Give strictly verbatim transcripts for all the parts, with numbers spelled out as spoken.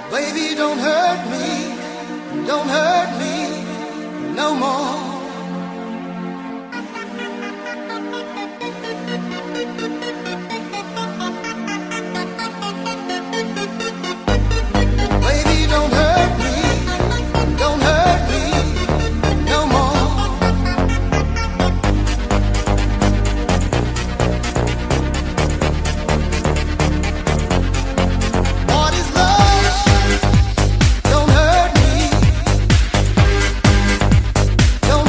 Baby, don't hurt me, don't hurt me no more. Baby, don't hurt me, don't hurt me no more. What is love? Don't hurt me, don't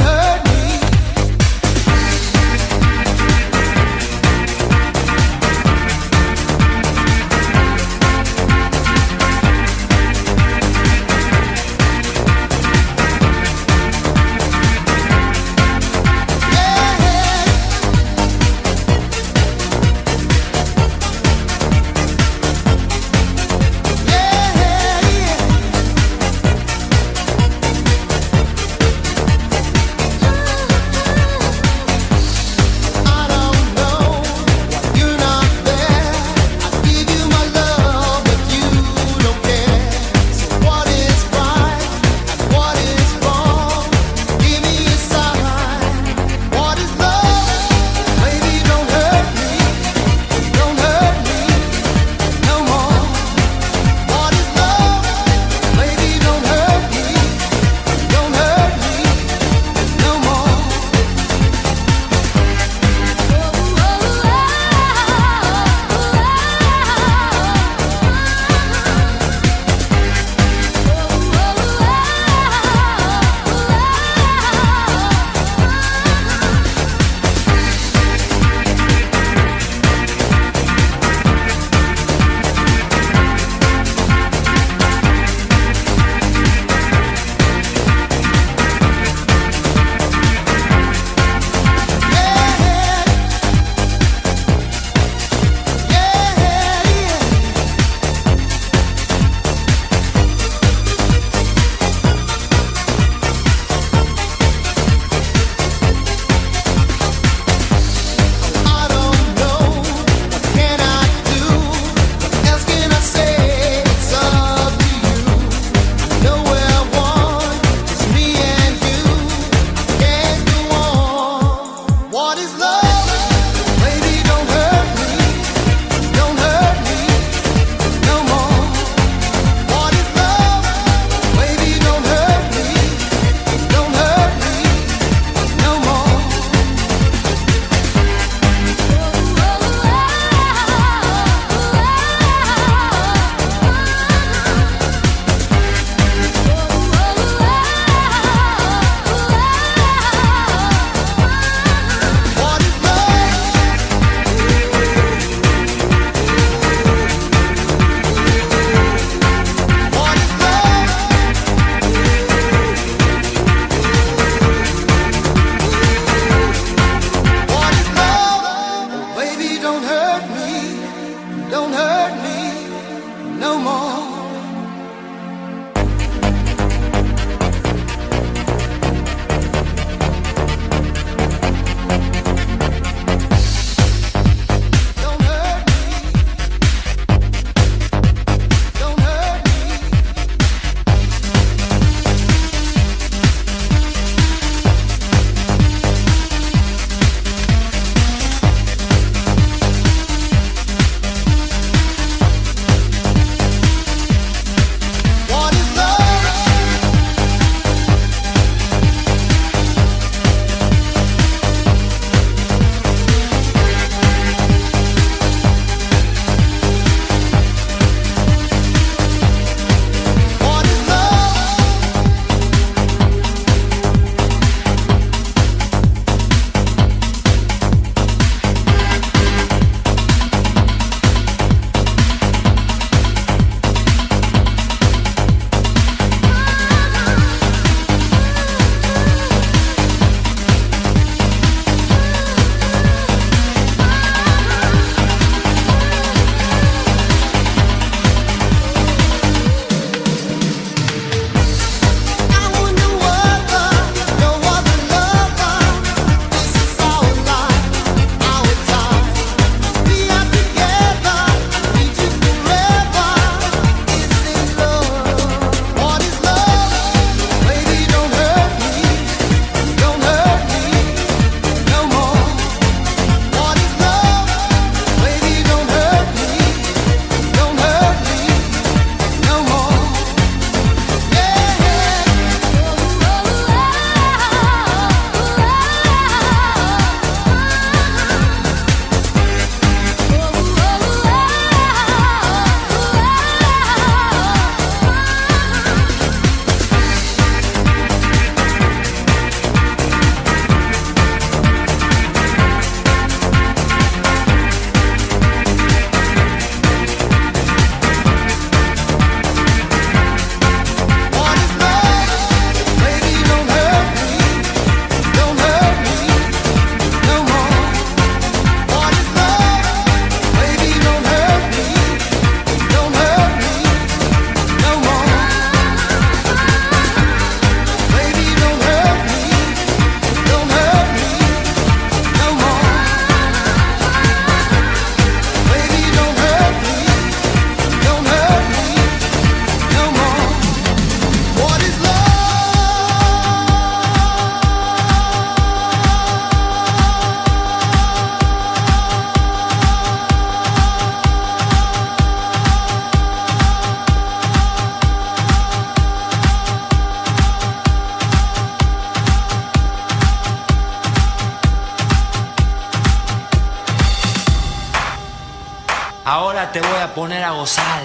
Ahora te voy a poner a gozar.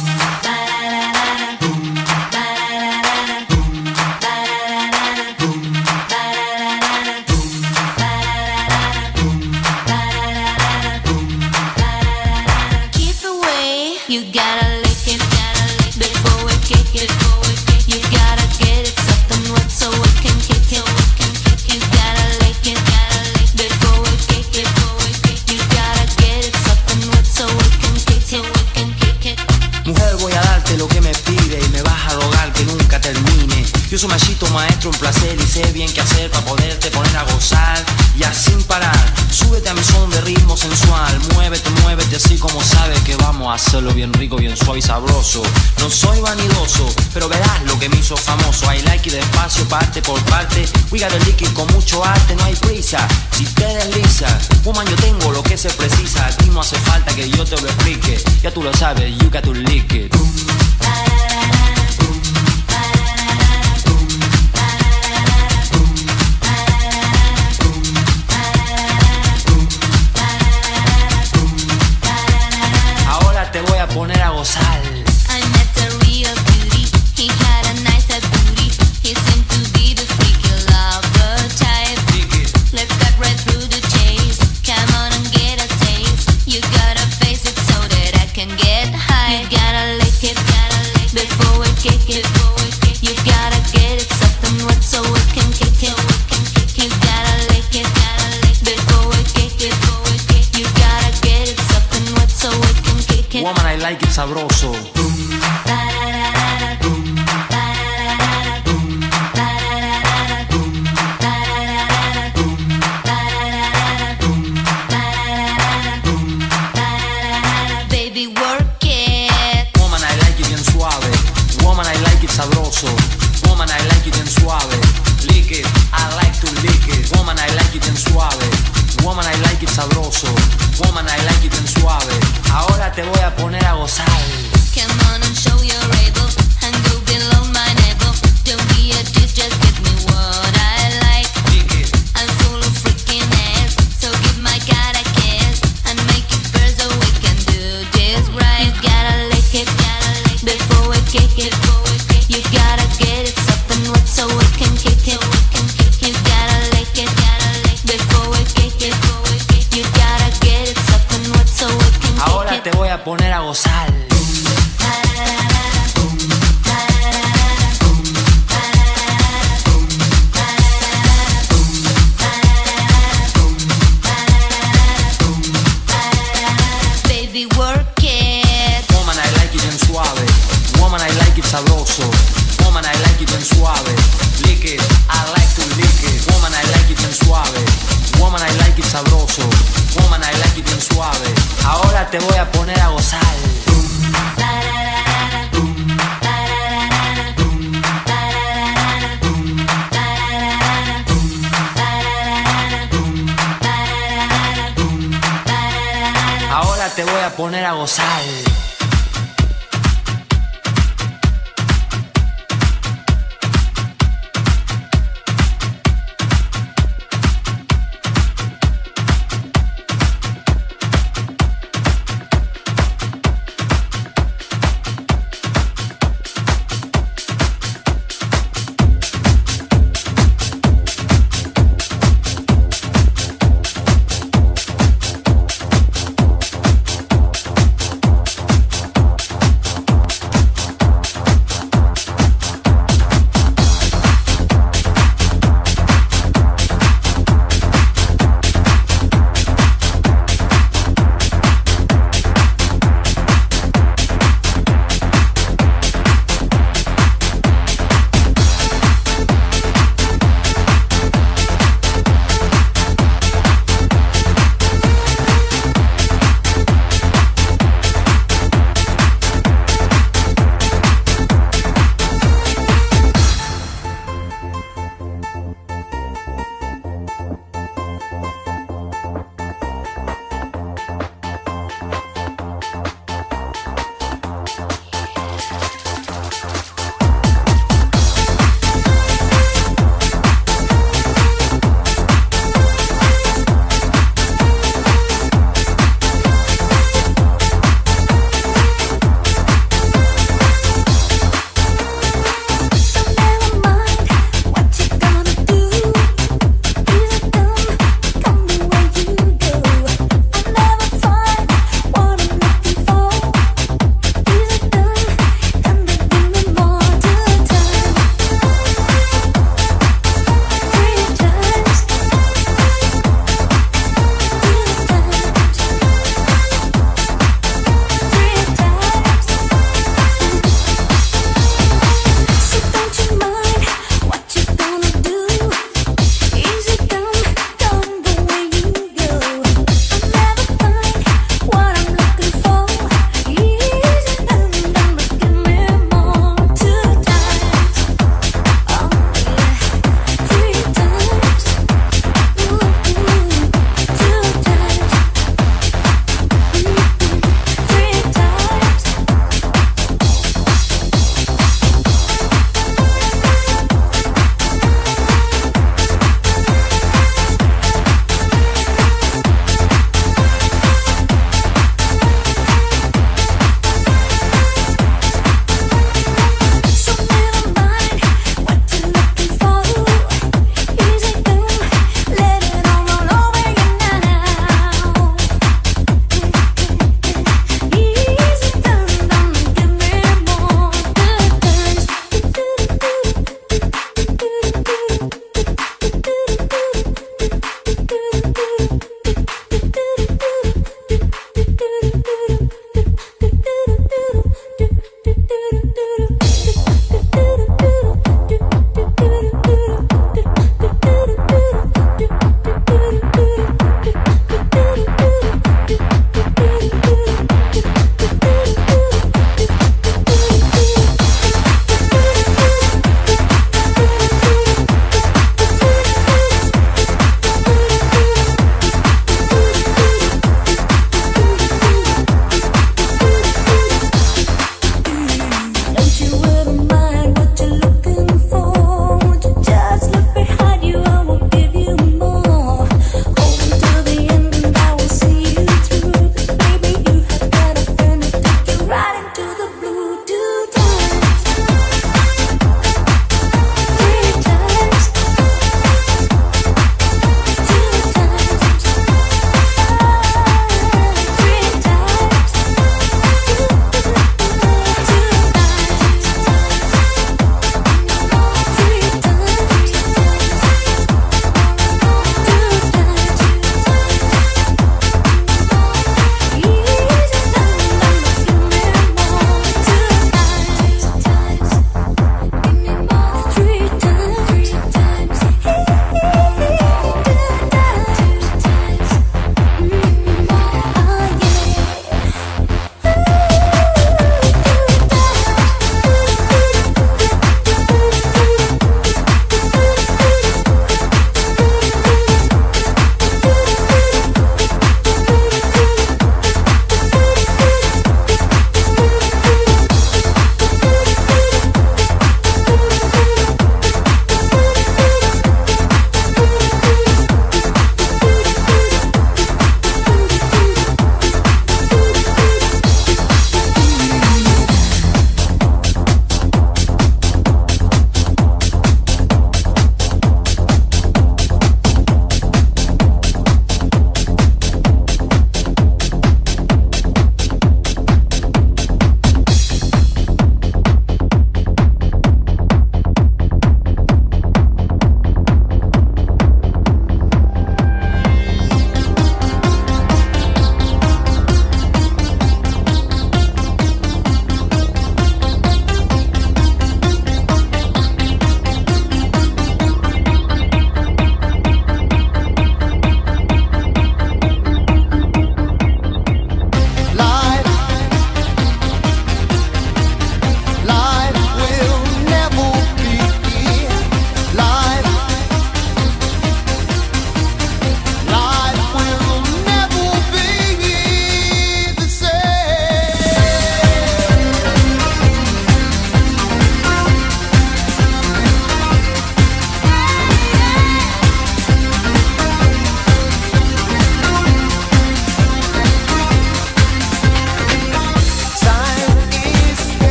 Keep away, you gotta lick it, gotta lick it before we kick it, before we kick it. You gotta get it something wet so we can kick it, we can kick it. You gotta lick it, gotta lick it before we kick it, before we kick it. You gotta get it something wet so we can kick it, we can kick it. Mujer, voy a darte lo que me pide y me vas a rogar que nunca termine. Yo soy machito maestro en placer y sé bien qué hacer para poderte poner a gozar. Y así sin parar, súbete a mi son de ritmo sensual. Muévete, muévete así como sabes que vamos a hacerlo bien rico, bien suave y sabroso. No soy vanidoso, pero verás lo que me hizo famoso. I like it despacio, parte por parte. We got a liquid con mucho arte, no hay prisa. Si te deslizas, woman, yo tengo lo que se precisa. Aquí no hace falta que yo te lo explique. Ya tú lo sabes, you got to lick it. Ahora te voy a poner a gozar. I met a real beauty, he had a nice booty. He seemed to be the freaky lover type. Let's cut right through the chase. Come on and get a taste. You gotta face it so that I can get high. You gotta lick it, gotta lick it before we kick it, before we kick it. You gotta get it something wet so we can kick it, we can kick it. You gotta lick it, gotta lick it before we kick it, before we kick it. You gotta get it something wet so we can kick it. Woman, I like it sabroso. Baby, work it. Woman, I like it bien suave. Woman, I like it sabroso. Woman, I like it bien suave. Lick it, I like to lick it. Woman, I like it bien suave. Woman, I like it sabroso. Woman, I like it bien suave. Ahora te voy a poner a gozar. Come on and show you're able and go below my navel. Don't be a dick, just give me what I like. Lick it. I'm full of freaking ass, so give my God a kiss and make it first so we can do this right. You gotta lick it, gotta lick it before we kick it, before we kick it. You gotta get it something wet so we can kick it, we can kick it. You gotta lick it, gotta lick it before we kick it, before we kick it. You gotta get it something wet so we can kick it. Ahora te voy a poner a gozar. Baby, work it. Woman, I like it bien suave. Woman, I like it sabroso. Woman, I like it bien suave. Lick it, I like to lick it. Woman, I like it bien suave. Woman, I like it sabroso. Woman, I like it bien suave. Ahora te voy a poner a gozar. Ahora te voy a poner a gozar.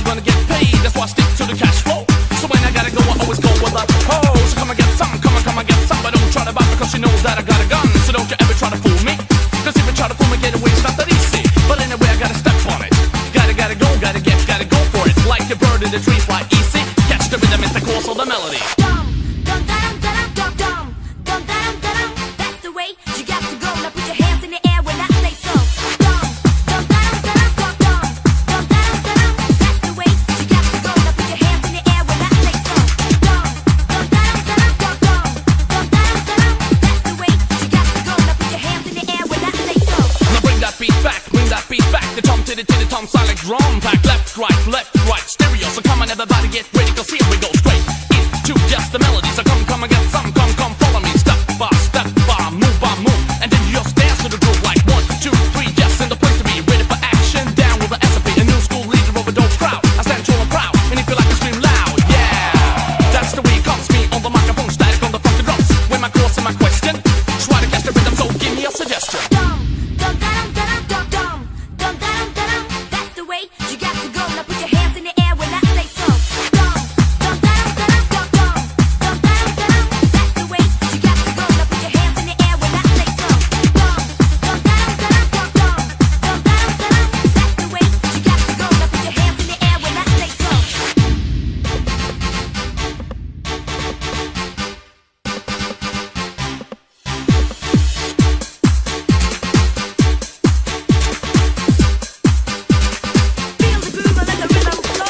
I'm gonna get paid. That's why I stick to the cash flow. So when I gotta go, I always go with a oh. So come and get some, come on, come and get some. But don't try to buy because you know that I got a gun. So don't you ever try to fool me. Cause if you try to fool me, get away, it's not that easy. But anyway, I gotta step on it. Gotta, gotta go, gotta get, gotta go for it. Like a bird in the tree, fly easy. Catch the rhythm, it's the course of the melody. Dum, dum, dum, dum, dum, dum, dum, dum, dum. That's the way you got to go. Now put your hands in the air when I say so. Dum, dum, dum, dum, dum, dum, dum, dum, dum. That's the way you got to go. Now put your hands in the air when I say so. Dum, dum, dum, dum, dum, dum, dum, dum, dum. That's the way you got to go. Now put your hands in the air when I say so. Now bring that beat back, bring that beat back. The tom to the to the tom sound like drum pack. Left, right, left, right, stereo. So come on, everybody get ready, cause here we go straight into just the melody. So come, come and get some, come, come, follow me. Step by step by, move by move, and then you just dance to the groove like one, two, three. Just in the place to be ready for action. Down with the S P, a new school leader of a dope crowd. I stand tall and proud, and if you like to scream loud, yeah, that's the way it comes. Me on the microphone, static on the funky drums. With my course and my question, try to catch the rhythm, so give me a suggestion. Dum, dum, dum, dum, dum, dum, dum, dum, dum. That's the way you got to go. Now put your hands in the air when I say so. Dum, dum, dum, dum, dum, dum, dum, dum, dum. That's the way you got to go. Now put your hands in the air when I say so. Dum, dum, dum, dum, dum, dum, dum, dum, dum. That's the way you got to go. Now put your hands in the air when I say so. Feel the groove and let the rhythm flow.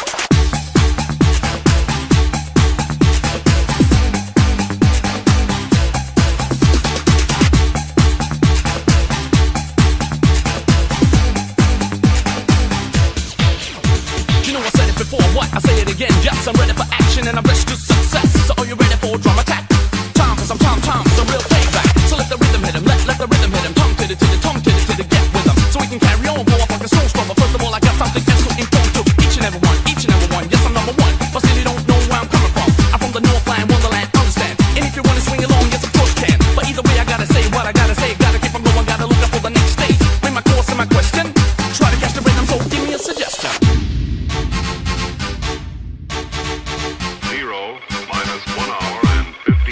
You know I said it before, what? I say it again, yes, I'm ready for action and I'm ready to success. So are you ready for a drum attack? Time for some Tom Tom, the real playback. So let the rhythm hit him, let, let the rhythm hit him. Tongue to the to the tongue to the to the get with him. So we can carry on, blow up like a snowstorm. But first of all, I got something else to inform to each and every one, each and every one. Yes, I'm number one, but still you don't know where I'm coming from. I'm from the Northland, Wonderland, understand. And if you wanna swing along, yes, of course you can. But either way, I gotta say what I gotta say. Gotta keep on going, gotta look up for the next stage. Bring my course and my question. Try to catch the rhythm, so give me a suggestion. Zero minus one hour and fifty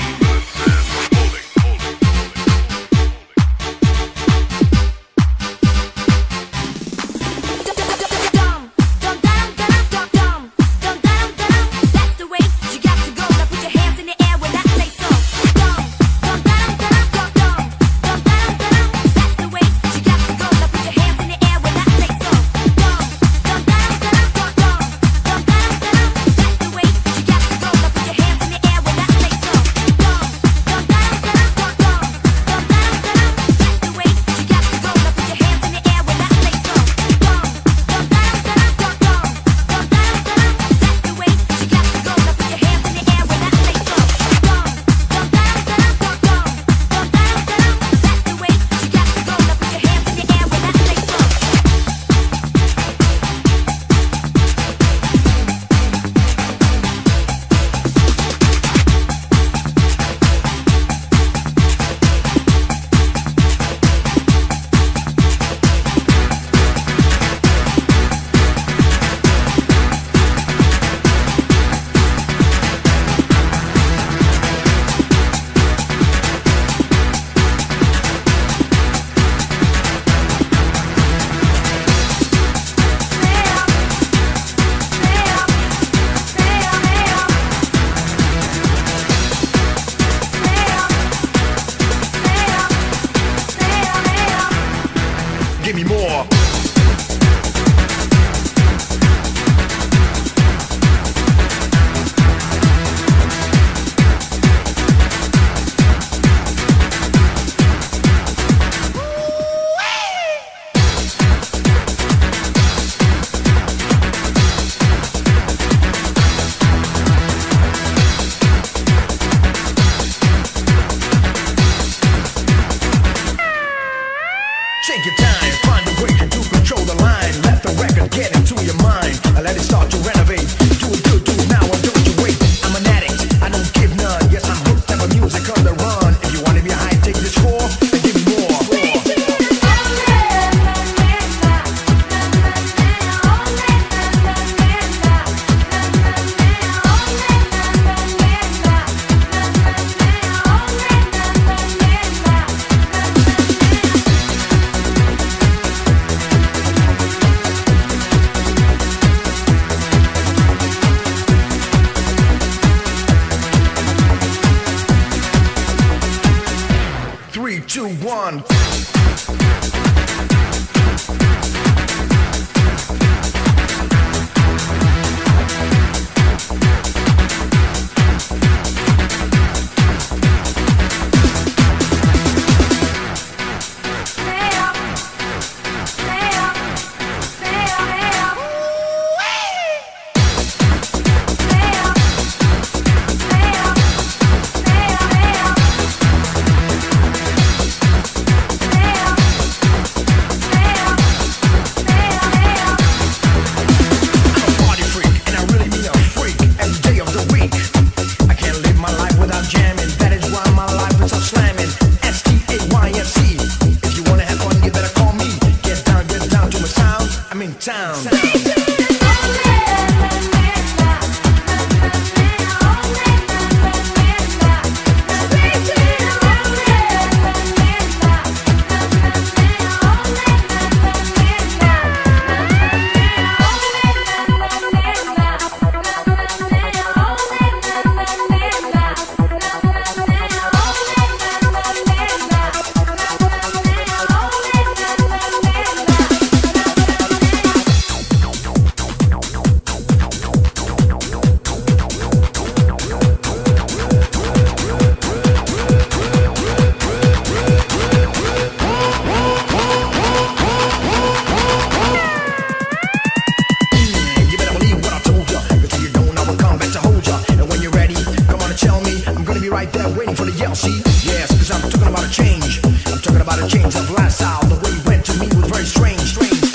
I'm for the yell, see? Yes, cause I'm talking about a change. I'm talking about a change of lifestyle. The way you went to me was very strange, strange, strange.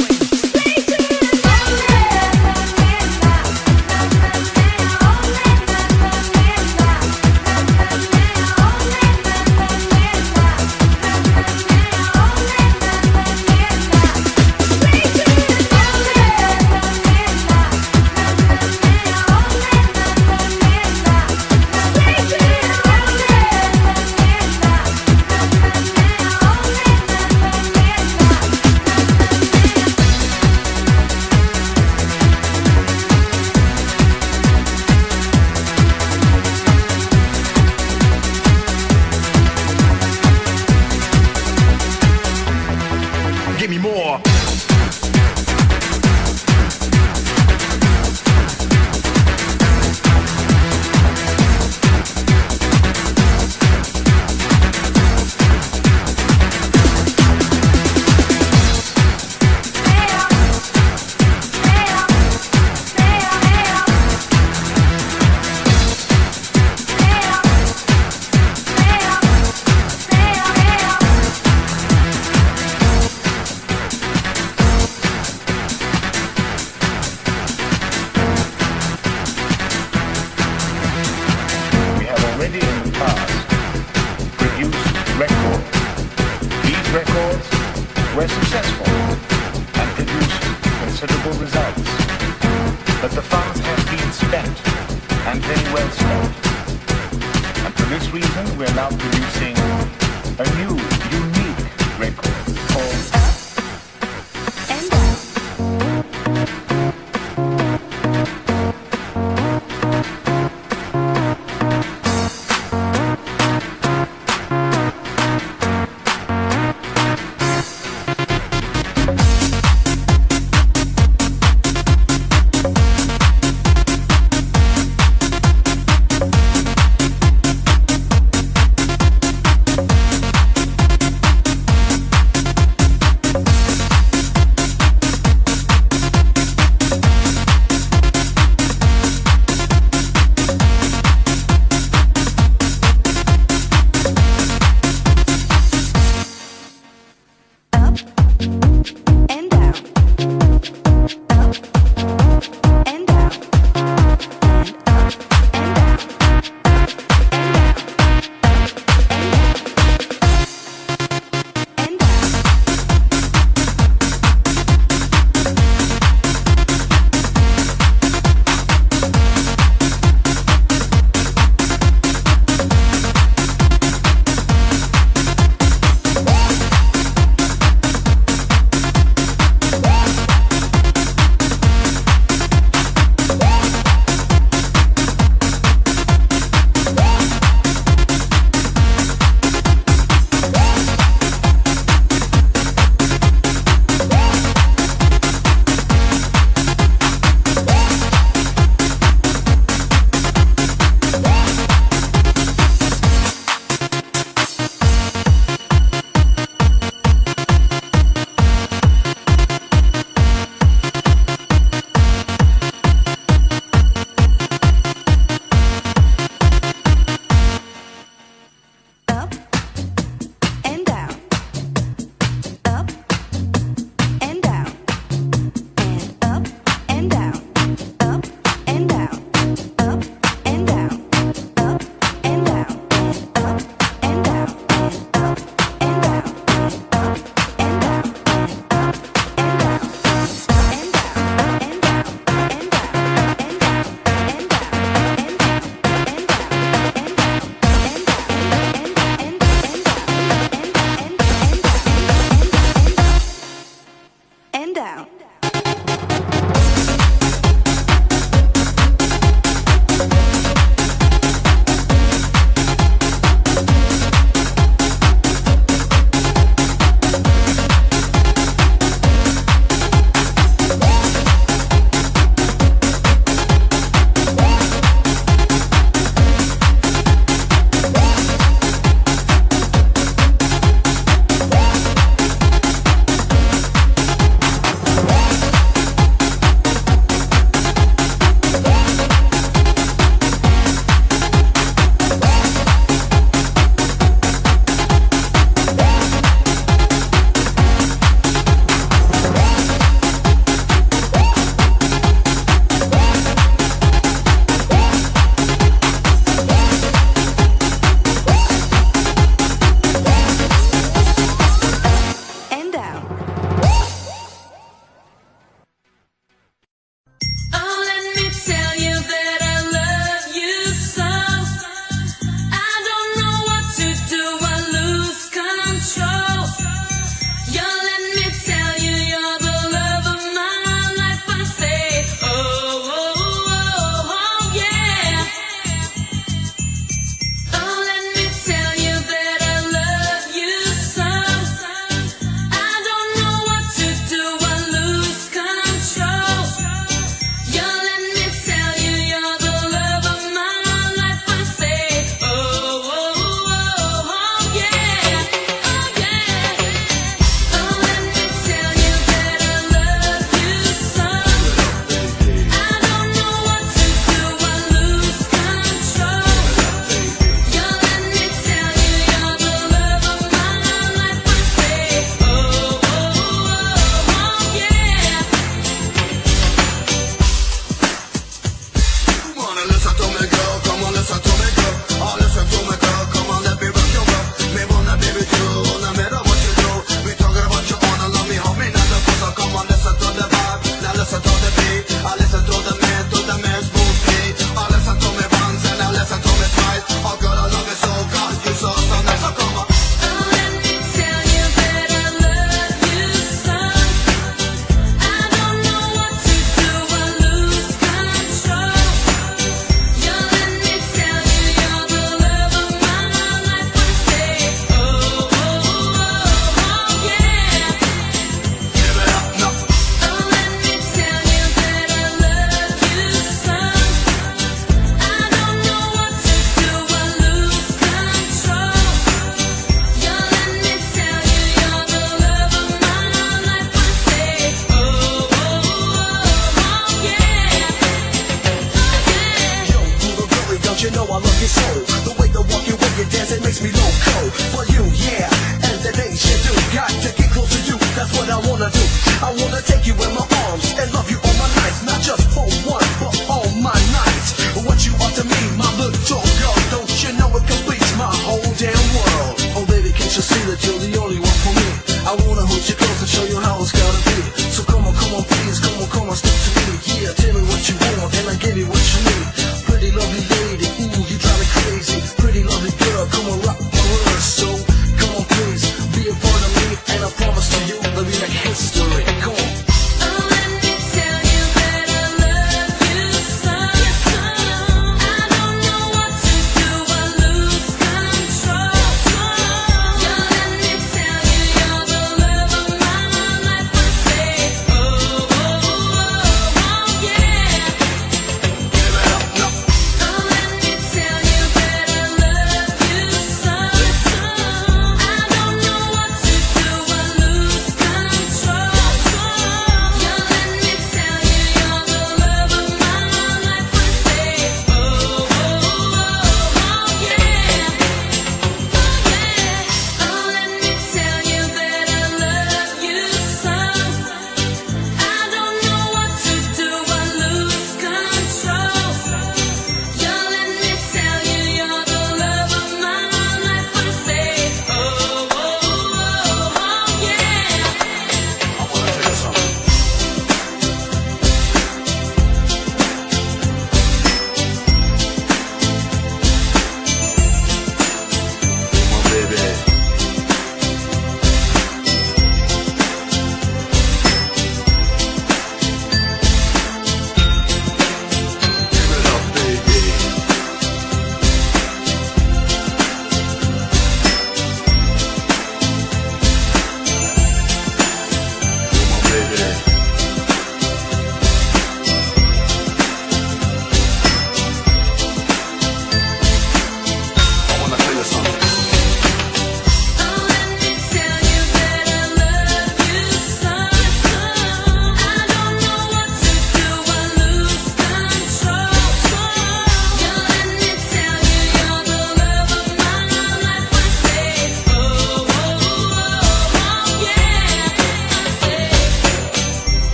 Don't you know I love you so? The way the walk, your way you dance, it makes me loco. For you, yeah, and the things you do. Got to get close to you, that's what I wanna do. I wanna take you in my arms and love you all my nights. Not just for one, but all my nights. What you are to me, my little girl. Don't you know it completes my whole damn world. Oh baby, can't you see that you're the only one for me? I wanna hold you close and show you how it's gotta be. So come on, come on, please, come on, come on, stick to me. Yeah, tell me what you want and I give you what you need. Pretty lovely lady, ooh, you drive me crazy. Pretty lovely girl, come on, rock my world. So come on, please, be a part of me, and I promise to you, let me make history. Come on.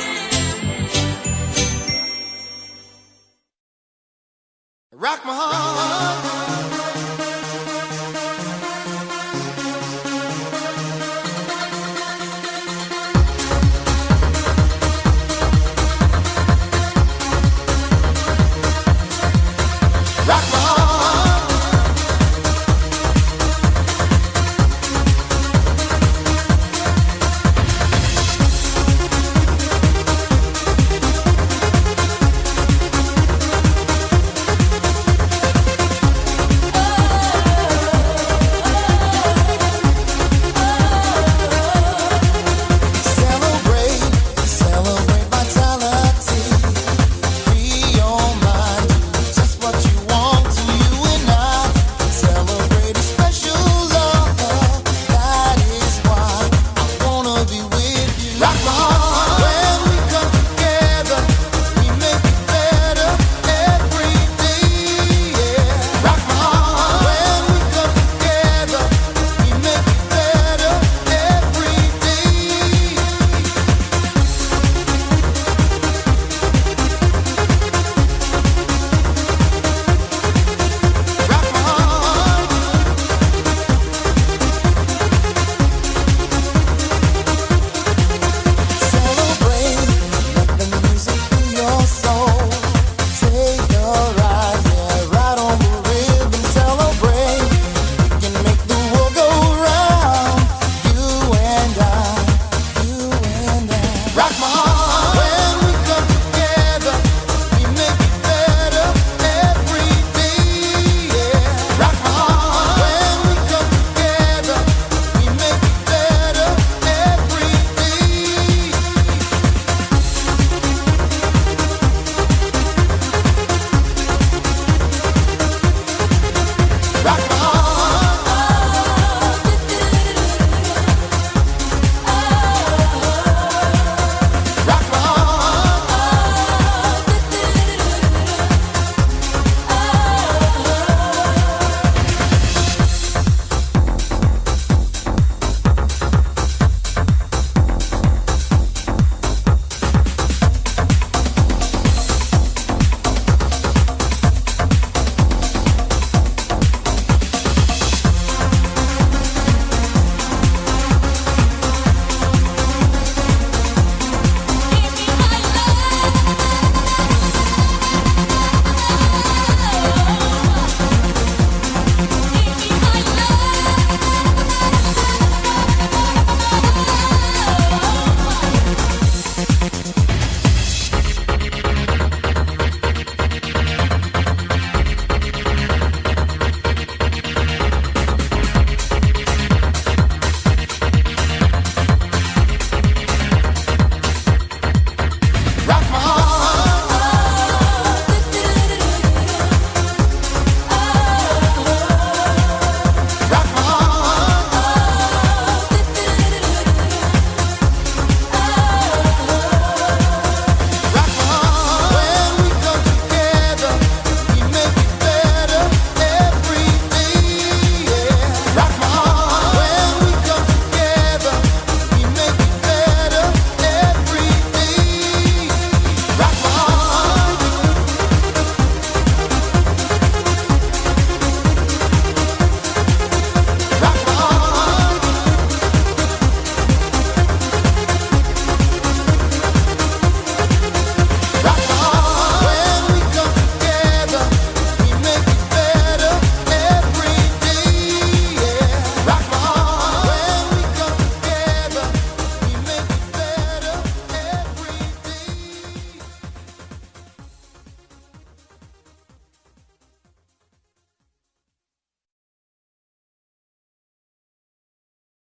Rock my heart.